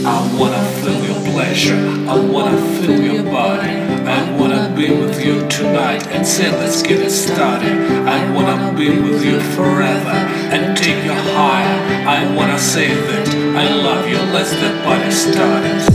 I wanna feel your pleasure, I wanna feel your body. I wanna be with you tonight and say let's get it started. I wanna be with you forever and take you higher. I wanna say that I love you, let's get party started.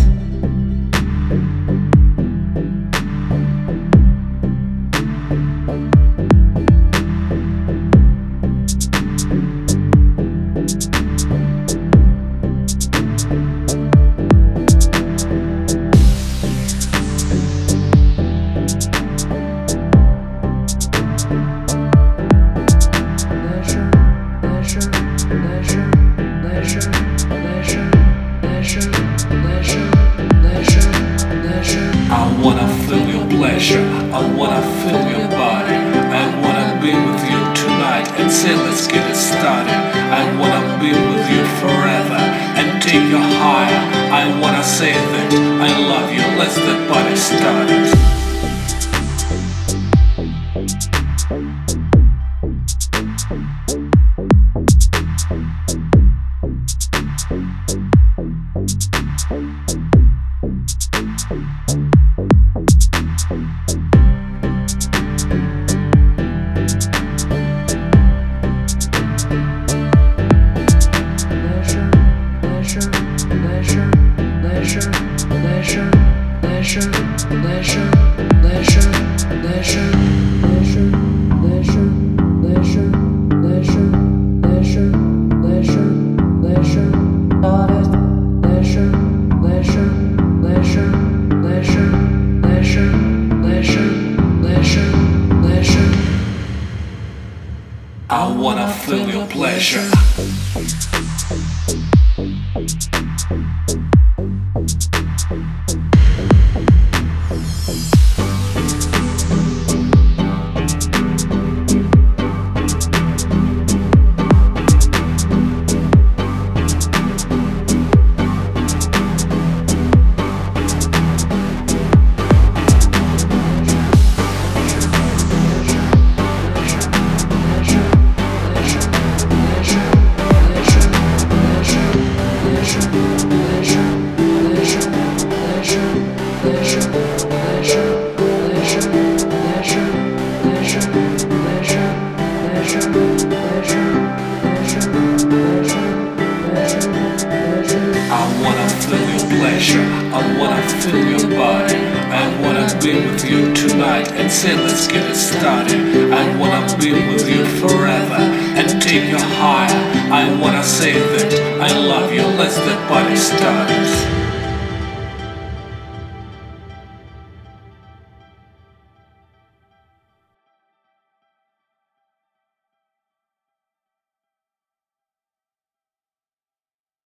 I wanna feel your pleasure, I wanna feel your body. I wanna be with you tonight and say let's get it started. I wanna be with you forever and take you higher. I wanna say that I love you, let's get party started. I wanna feel your pleasure. I wanna feel your body. I wanna be with you tonight and say let's get it started. I wanna be with you forever and take you higher. I wanna say that I love you, let's get party started.